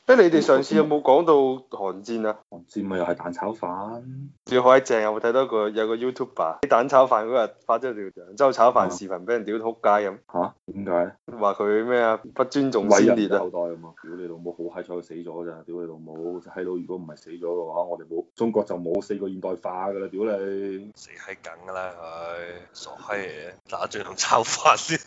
你哋上次有冇講到韓戰啊？ 韓戰咪又係蛋炒飯。 最好閪正，有冇睇到有個 YouTuber 喺蛋炒飯嗰日發咗條揚州炒飯視頻，俾人屌到仆街咁。 嚇？點解？ 話佢咩啊？不尊重偉先烈啊！ 人嘅後代啊嘛！屌你老母，好閪彩佢死咗咋！屌你老母，閪佬如果唔係死咗嘅話，我哋冇中國就冇4個現代化噶啦！屌你！ 死閪梗噶啦佢，傻閪嚟嘅，打仗同炒飯先，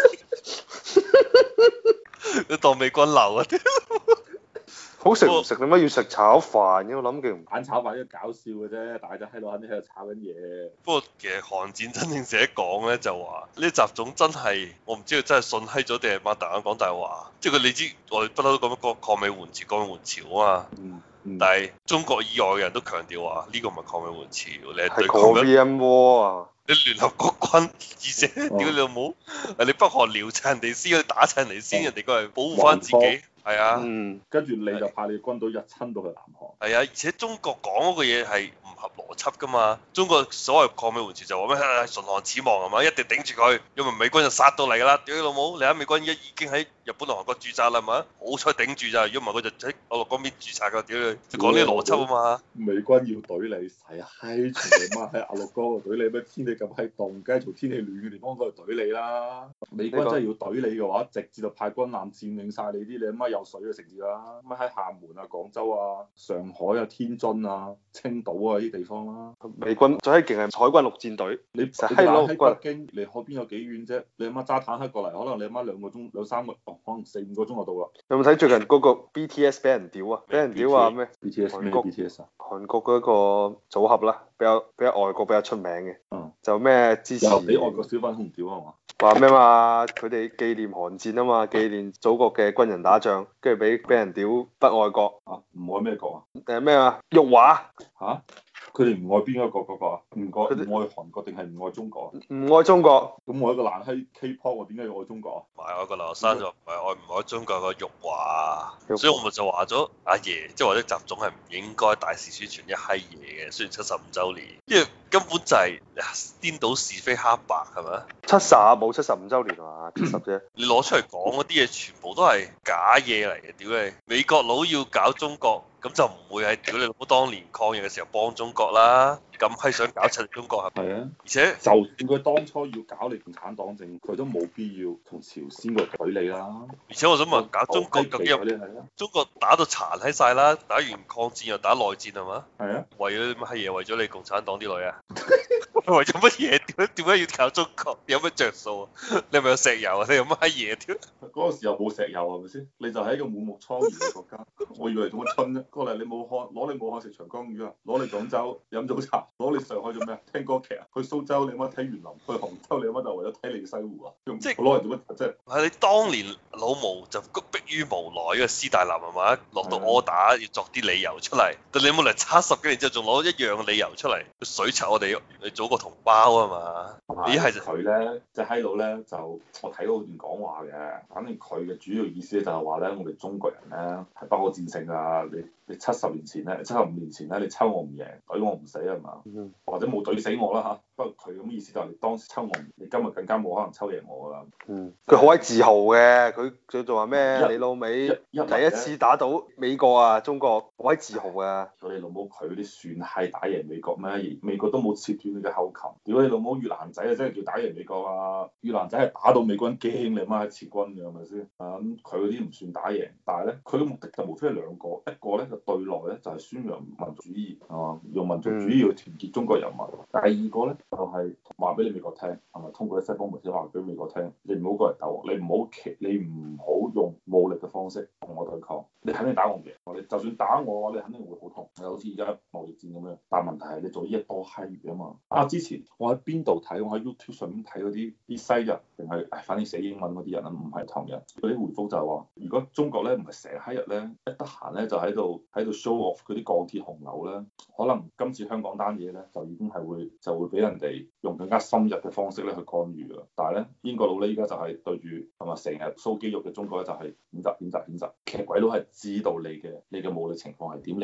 你當美軍流啊！ 好食唔食？點解要食炒飯嘅？我諗佢唔蛋炒飯都搞笑嘅啫，大家喺度肯定喺度炒緊嘢。 不過其實韓戰真正寫講咧，就話呢習總真係，我唔知佢真係信閪咗定係擘大眼講大話。即係佢你知我哋不嬲都講乜抗美援朝，抗美援朝啊嘛。但係中國以外嘅人都強調話呢個唔係抗美援朝，你係對抗緊 Korean War 啊！ 你聯合國軍，而且屌你老母，你北韓撩親人哋先，你打親人哋先，人哋過嚟保護翻自己。係啊， 跟住你就派你軍隊入侵到去南韓。 係啊，而且中國講嗰個嘢係唔合邏輯噶嘛。中國所謂抗美援朝就話咩唇亡齒亡係嘛，一定頂住佢，因為美軍就殺到嚟㗎啦。屌你老母，你睇美軍已經喺日本同韓國駐紮啦係嘛，好彩頂住咋，如果唔係佢就喺俄羅嗰邊駐紮㗎。屌你，就講呢啲邏輯啊嘛。 美軍要懟你，係啊，閪全你媽喺阿陸哥度懟你咩？天氣咁閪凍，梗係從天氣暖嘅地方嗰度懟你啦。美軍真係要懟你嘅話，直接就派軍艦佔領晒你啲你阿媽有水嘅城市啦。咁喺廈門啊、廣州啊、上海啊、天津啊、青島啊呢啲地方啦。 美軍最閪勁係海軍陸戰隊， 你實閪佬喺北京離海邊有幾遠啫？你阿媽揸坦克過嚟，可能你阿媽2個鐘、2、3個，可能4、5個鐘就到啦。 有冇睇最近嗰個 BTS 俾人屌啊？俾人屌話咩 ？BTS 咩 BTS 啊？ 韓國嗰個組合啦，比較外國比較出名嘅。就咩支持？ 又俾外國小粉紅屌啊嘛？ 話咩嘛？佢哋紀念韓戰啊嘛，紀念祖國嘅軍人打仗，跟住俾人屌不愛國啊？唔愛咩國啊？ 咩啊？辱華嚇？佢哋唔愛邊一個國家啊？唔愛韓國定係唔愛中國？ 唔愛中國。 咁我一個爛閪 K-pop，我點解要愛中國啊？ 唔係我個劉生就唔係愛唔愛中國個辱華，所以我咪就話咗阿爺，即係或者習總係唔應該大肆宣傳一閪嘢嘅。雖然75週年，因為根本就係顛倒是非黑白係咪 ？70冇75週年啊，70啫。 你攞出嚟講嗰啲嘢全部都係假嘢嚟嘅，屌你！美國佬要搞中國。咁就唔會係屌你老母當年抗疫嘅時候幫中國啦，咁係想搞柒中國係咪？ 啊， 而且就算佢當初要搞你共產黨政，佢都冇必要同朝鮮個懟你啦。 而且我想問，搞中國究竟中國打到殘喺晒啦，打完抗戰又打內戰係嘛？ 係啊， 為咗乜閪嘢？為咗你共產黨啲女啊？為咗乜嘢？點解要搞中國？有乜着數啊？你係咪有石油啊？你有乜閪嘢？屌！ 嗰個時候冇石油係咪先？你就係一個滿目瘡痍嘅國家，我以為做乜春啫？過嚟你武漢攞你武漢食長江魚啊，攞你廣州飲早茶，攞你上海做咩啊？聽歌劇啊？去蘇州你乜睇園林？去杭州你乜就為咗睇你嘅西湖啊？即係攞嚟做乜啫？ 係你當年老毛就逼於無奈，因為斯大林係嘛落到柯打要作啲理由出嚟，但你冇嚟70幾年之後仲攞一樣嘅理由出嚟水拆我哋你祖國同胞啊嘛？呢係佢咧，即係閪佬咧就我睇到段講話嘅，反正佢嘅主要意思咧就係話咧，我哋中國人咧係不可戰勝啊！你70年前咧，75年前咧，你抽我唔贏，懟我唔死係嘛？或者冇懟死我啦嚇。不過佢咁意思就係你當時抽我唔，你今日更加冇可能抽贏我啦。 佢好鬼自豪嘅，佢仲話咩？你老味第一次打到美國啊，中國好鬼自豪啊！ 屌你老母，佢嗰啲算係打贏美國咩？美國都冇切斷你嘅後勤。屌你老母，越南仔啊真係叫打贏美國啊！越南仔係打到美國人驚你媽喺撤軍嘅係咪先？啊咁佢嗰啲唔算打贏，但係咧佢嘅目的就無非係兩個，一個咧就對內咧就係宣揚民族主義啊，用民族主義去團結中國人民。第二個咧就係話俾你美國聽，係咪通過啲西方媒體話俾美國聽，你唔好過嚟鬥我，你唔好用武力嘅方式同我對抗，你肯定打我唔贏。你就算打我，你肯定會好痛，好似而家貿易戰咁樣。但係問題係你做呢一多閪嘢啊嘛。啊之前我喺邊度睇？我喺 YouTube 上面睇嗰啲西人定係反正寫英文嗰啲人啊，唔係唐人嗰啲回覆就係話，如果中國咧唔係成閪日咧一得閒咧就喺度 show off 嗰啲鋼鐵洪流咧，可能今次香港單嘢咧就已經係會俾人哋用更加深入嘅方式咧去干預㗎。但係咧英國佬咧依家就係對住係咪成日 show 肌肉嘅中國咧就係譴責，其實鬼佬係知道你嘅武力情況係點，你唔需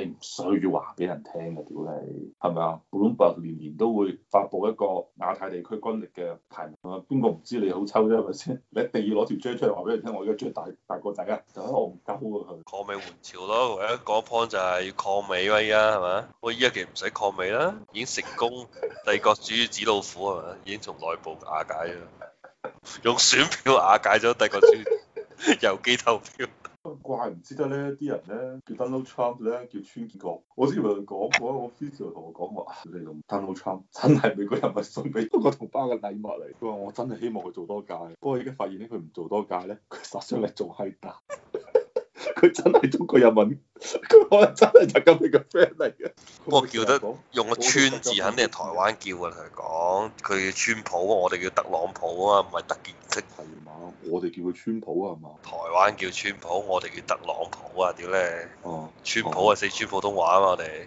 需要話俾人聽嘅，屌你，係咪啊？Bloomberg 年年都會發布一個亞太地區軍力嘅排名啊，邊個唔知你好抽啫，係咪先？你一定要攞條 J 出嚟話俾人聽，我而家最大個仔啊，就喺戇鳩啊佢。 抗美援朝咯，唯一講 point 就係要抗美啊，依家係咪？我依家其實唔使抗美啦，已經成功帝國主義紙老虎係咪？已經從內部瓦解咗，用選票瓦解咗帝國主義，郵寄投票。 怪唔知得咧，啲人咧叫 Donald Trump 咧叫川建國，我之前佢講過，我 official 同我講話，你用 Donald Trump 真係美國人民送俾中國同胞嘅禮物嚟。佢話我真係希望佢做多屆，不過而家發現咧佢唔做多屆咧，佢殺傷力仲係大。佢真係中國人民，佢可能真係習近平嘅 friend 嚟嘅。 不過叫得用個川字，肯定係台灣叫嘅。同佢講，佢叫川普，我哋叫特朗普啊嘛，唔係特建式。 係嘛？我哋叫佢川普啊嘛。 台灣叫川普，我哋叫特朗普啊！屌你！ 哦。 川普係四川普通話啊嘛，我哋。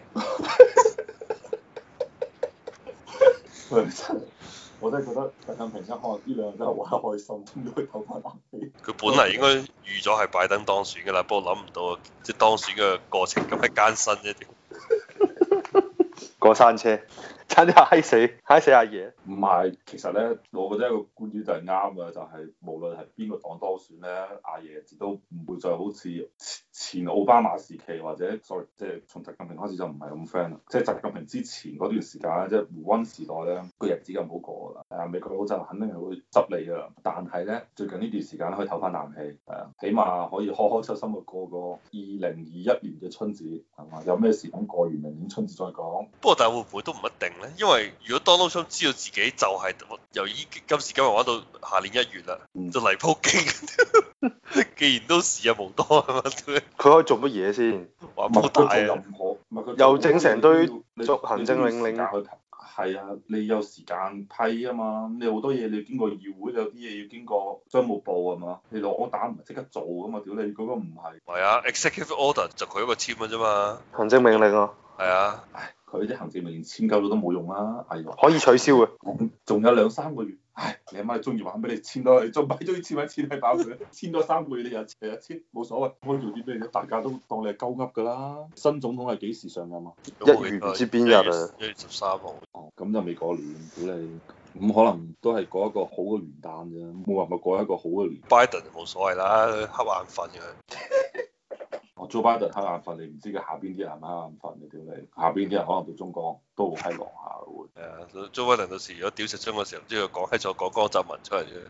我真係覺得習近平一可能呢兩日真係玩得開心，終於可以唞翻啖氣。 佢本嚟應該預咗係拜登當選㗎啦，不過諗唔到即係當選嘅過程咁閪艱辛啫。 過山車，差啲嗨死阿爺。 唔係，其實咧，我覺得一個觀點就係啱嘅，就係、是、無論係邊個黨當選咧，阿爺亦都唔會再好似前奧巴馬時期或者 sorry，即係從習近平開始就唔係咁 friend 啦。即係習近平之前嗰段時間咧，即係胡溫時代咧，個日子咁好過㗎啦。係啊，美國佬就肯定係會執你㗎啦。但係咧，最近呢段時間咧可以唞翻啖氣，係啊，起碼可以開開心心去過個2021年嘅春節，係嘛？有咩事等過完明年春節再講。 不過但係會唔會都唔一定咧？因為如果 Donald Trump 知道自己就係由今時今日玩到下年1月啦，就嚟鋪機。既然都時日無多係嘛？佢可以做乜嘢先？ 玩冇大啊！ 又整成堆做行政命令。 係啊，你有時間批啊嘛，你好多嘢你要經過議會，有啲嘢要經過商務部係嘛？你攞打唔係即刻做㗎嘛？屌你嗰個唔係。 係啊，executive order 就佢一個簽嘅啫嘛。 行政命令啊。 係啊。 唉，佢啲行政命令簽夠咗都冇用啦，哎呀。 可以取消嘅。 仲有2-3個月。唉，你阿媽中意玩俾你簽多，你仲咪中意簽咪簽係爆佢，簽多3個月你又簽，冇所謂，可以做啲咩啫？大家都當你係鳩噏㗎啦。新總統係幾時上任啊 ？1月唔知邊日啊 ？1月13號。 哦，咁就未過年，屌你，咁可能都係過一個好嘅元旦啫，冇辦法過一個好嘅年。 Biden 就冇所謂啦，佢瞌眼瞓嘅。 哦，Joe Biden 瞌眼瞓，你唔知佢下邊啲人係咪瞌眼瞓嘅，屌你，下邊啲人可能到中國都好閪狼下會。 係啊，Joe Biden 到時如果屌食中嘅時候，唔知佢講閪咗講江澤民出嚟啫。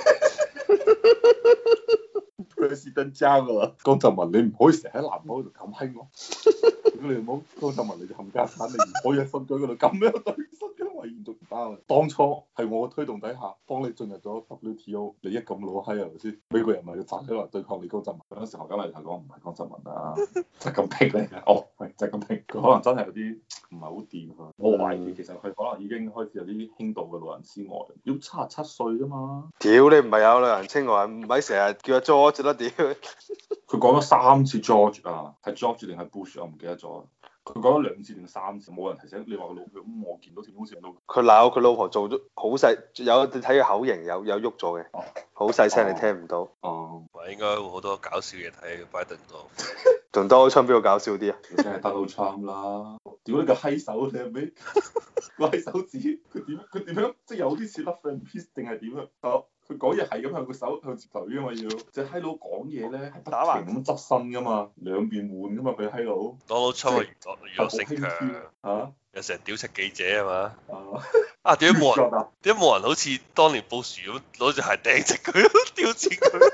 佢是真爭㗎啦，江澤民你唔可以成日喺南海度咁閪我。如果你唔好江澤民你就冚家鏟，你唔可以喺新疆嗰度咁樣對新疆維吾族唔包。當初係我嘅推動底下幫你進入咗 WTO，你一咁老閪係咪先？美國人咪要站起來對抗你江澤民。嗰陣時何家麗就講唔係江澤民啊，習近平嚟嘅。哦，係習近平，佢可能真係有啲唔係好掂啊。我懷疑其實佢可能已經開始有啲輕度嘅老人痴呆，要77歲啫嘛。 屌你唔係有老人痴呆，唔係成日叫阿 George 啦屌。 佢講咗3次 George 啊，係 George 定係 Bush 我唔記得咗。佢講咗2次定3次，冇人提醒你話佢老婆。咁我見到條好似老婆。 佢鬧佢老婆做咗好細，有你睇佢口型有喐咗嘅，好細聲你聽唔到。 哦。 應該會好多搞笑嘢睇拜登度。 仲Donald Trump邊個搞笑啲啊？ 梗係Donald Trump啦！屌你個閪手，你係咪個閪手指？佢點樣？即係有啲似 Love and Peace 定係點啊？佢講嘢係咁向個手向住嘴㗎嘛要。隻閪佬講嘢咧係不停咁側身㗎嘛，兩邊換㗎嘛佢閪佬。 Donald Trump娛樂性強嚇， 又成日屌柒記者係嘛？ 啊點解冇人好似當年布殊咁攞住鞋掟直佢，屌錢佢？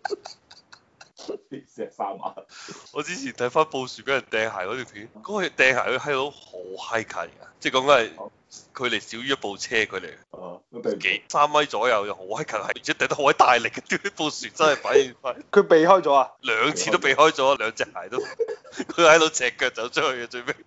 石三啊！ 我之前睇翻布殊俾人掟鞋嗰條片，嗰個掟鞋佢閪佬好閪近㗎，即係講緊係距離少於一部車距離，幾3米左右又好閪近，而且掟得好閪大力嘅，屌布殊真係反應快。 佢避開咗啊 ？2次都避開咗，2隻鞋都，佢喺度赤腳走出去嘅最尾。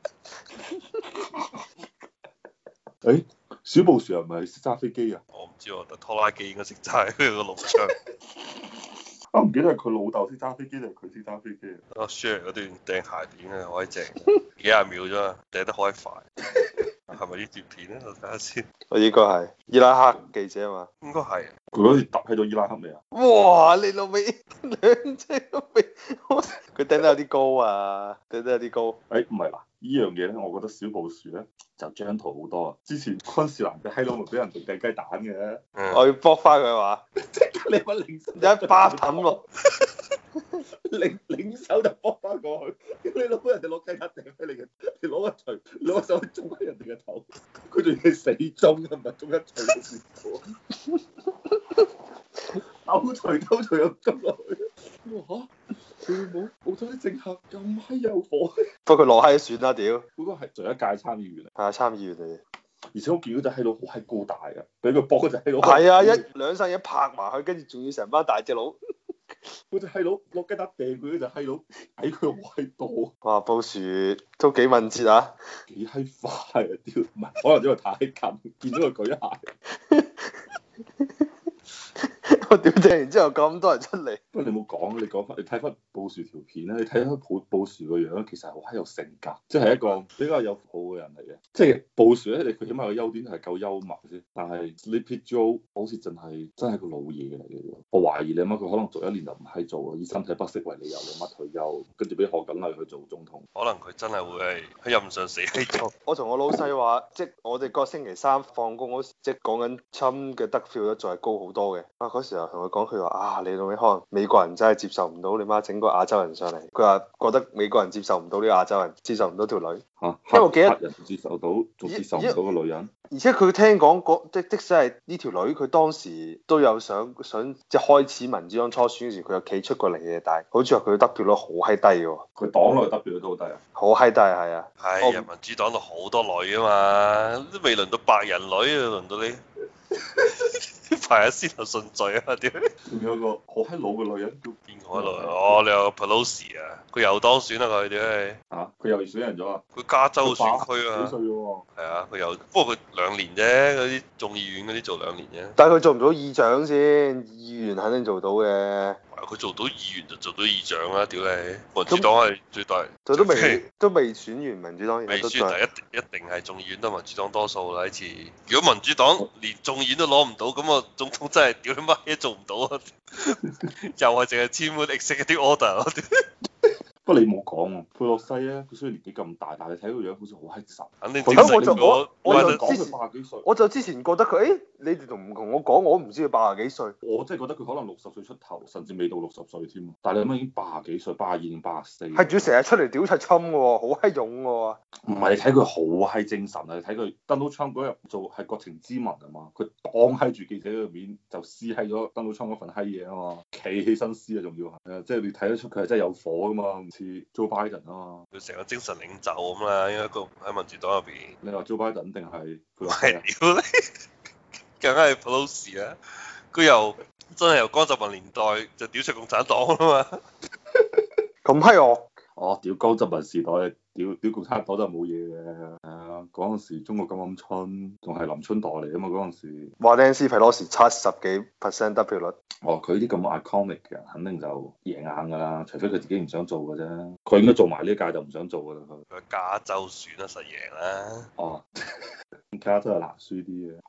誒，小布殊係咪識揸飛機啊？ 我唔知喎，但拖拉機應該識揸，佢個陸場。 我唔記得係佢老豆識揸飛機定係佢識揸飛機啊？ share 嗰段掟鞋片啊，好閪正，幾廿秒啫嘛，掟得好閪快。 係咪呢段片咧？我睇下先。 我應該係伊拉克記者啊嘛。 應該係。 佢嗰時揼喺咗伊拉克未啊？ 哇！你老味兩隻都未，佢掟得有啲高啊，掟得有啲高。 誒唔係啦，呢樣嘢咧，我覺得小布殊咧就張圖好多啊。之前昆士蘭嘅閪佬咪俾人哋掟雞蛋嘅， 我要搏翻佢話， 你乜領手一巴揼落， 領手就搏翻過去，你老母人哋攞雞蛋掟俾你嘅，你攞一錘攞個手去中喺人哋嘅頭，佢仲要係死中啊，唔係中一錘都算過，兜錘又中落去，哇嚇！佢冇澳洲啲政客咁閪有火， 不過佢落閪算啦屌。 嗰個係上一屆參議員嚟， 係啊，參議員嚟。 而且我見到隻閪佬好閪高大嘅，俾佢搏嗰隻閪佬。 係啊，一兩身一拍埋去，跟住仲要成班大隻佬。 嗰隻閪佬落雞蛋掟佢嗰隻閪佬，矮佢好閪多。 哇，布殊都幾敏捷啊！ 幾閪快啊！屌，唔係可能因為太近，見到佢舉鞋。 我屌掟完之後咁多人出嚟。 不過你冇講，你講翻，你睇翻布殊條片咧，你睇翻布殊個樣，其實好閪有性格，即係一個比較有好嘅人嚟嘅。即係布殊咧，佢起碼個優點係夠幽默先。但係 Sleepy Joe 好似真係個老嘢嚟嘅。我懷疑你媽佢可能做一年就唔係做啦，以身體不適為理由，你媽退休，跟住俾賀錦麗去做總統。 可能佢真係會係喺任上死喺度。 我同我老細話，即係我哋個星期三放工嗰時，即係講緊侵嘅得票咧，仲係高好多嘅。啊，嗰時候同佢講，佢話啊，你老味可能美國人真係接受唔到你媽整個亞洲人上嚟。佢話覺得美國人接受唔到呢個亞洲人，接受唔到條女。 嚇， 因為我記得黑人接受到，仲接受唔到個女人。 而且佢聽講即使係呢條女，佢當時都有想即係開始民主黨初選嗰時，佢有企出過嚟嘅，但係好似話佢得票率好閪低嘅喎。 佢黨內得票率都好低啊！ 好閪低係啊！ 係人民主黨度好多女啊嘛，都未輪到白人女啊，輪到你排喺先頭順序啊！屌， 仲有個好閪老嘅女人叫邊個喺度？哦，你有個 Pelosi 啊，佢又當選啦佢屌你！ 嚇，佢又選人咗啊！ 佢加州選區啊， 幾歲喎？ 係啊，佢又不過佢2年啫，嗰啲眾議院嗰啲做2年啫。 但係佢做唔到議長先，議員肯定做到嘅。 佢做到議員就做到議長啦，屌你！民主黨係最大， 佢都未選完民主黨， 未選，但一定係眾議院都民主黨多數啦呢次。如果民主黨連眾議院都攞唔到，咁啊總統真係屌你媽嘢做唔到啊！又係淨係簽嗰啲 executive order。 不過你冇講喎，佩洛西咧，佢雖然年紀咁大，但係你睇個樣好似好閪實。 肯定我就講佢80幾歲， 我就之前覺得佢，你哋唔同我講，我唔知佢80幾歲。 我真係覺得佢可能60歲出頭，甚至未到60歲添。但係你諗已經80幾歲，82定84。 係仲要成日出嚟屌柒侵嘅喎，好閪勇嘅喎。 唔係，你睇佢好閪精神啊！你睇佢 Donald Trump 嗰日做係國情咨文啊嘛，佢當閪住記者嘅面就撕閪咗 Donald Trump 嗰份閪嘢啊嘛，企起身撕啊，仲要係，即係你睇得出佢係真係有火噶嘛，唔似 Joe Biden 啊嘛。 佢成個精神領袖咁啦，應該個喺民主黨入邊。 你話 Joe Biden 定係佢？ 係屌你，梗係 Pelosi 啊！佢由真係由江澤民年代就屌出共產黨啊嘛。 咁閪惡！ 哦，屌江澤民時代，屌共產黨就冇嘢嘅。嗰陣時中國咁鵪鶉，仲係林春代嚟啊嘛，嗰陣時。 話靚斯皮羅士70幾%得票率。 哦，佢啲咁 iconic 嘅人，肯定就贏硬㗎啦，除非佢自己唔想做嘅啫。佢應該做埋呢一屆就唔想做㗎啦。 佢加州選啊，實贏啦。 哦，加州係難輸啲嘅。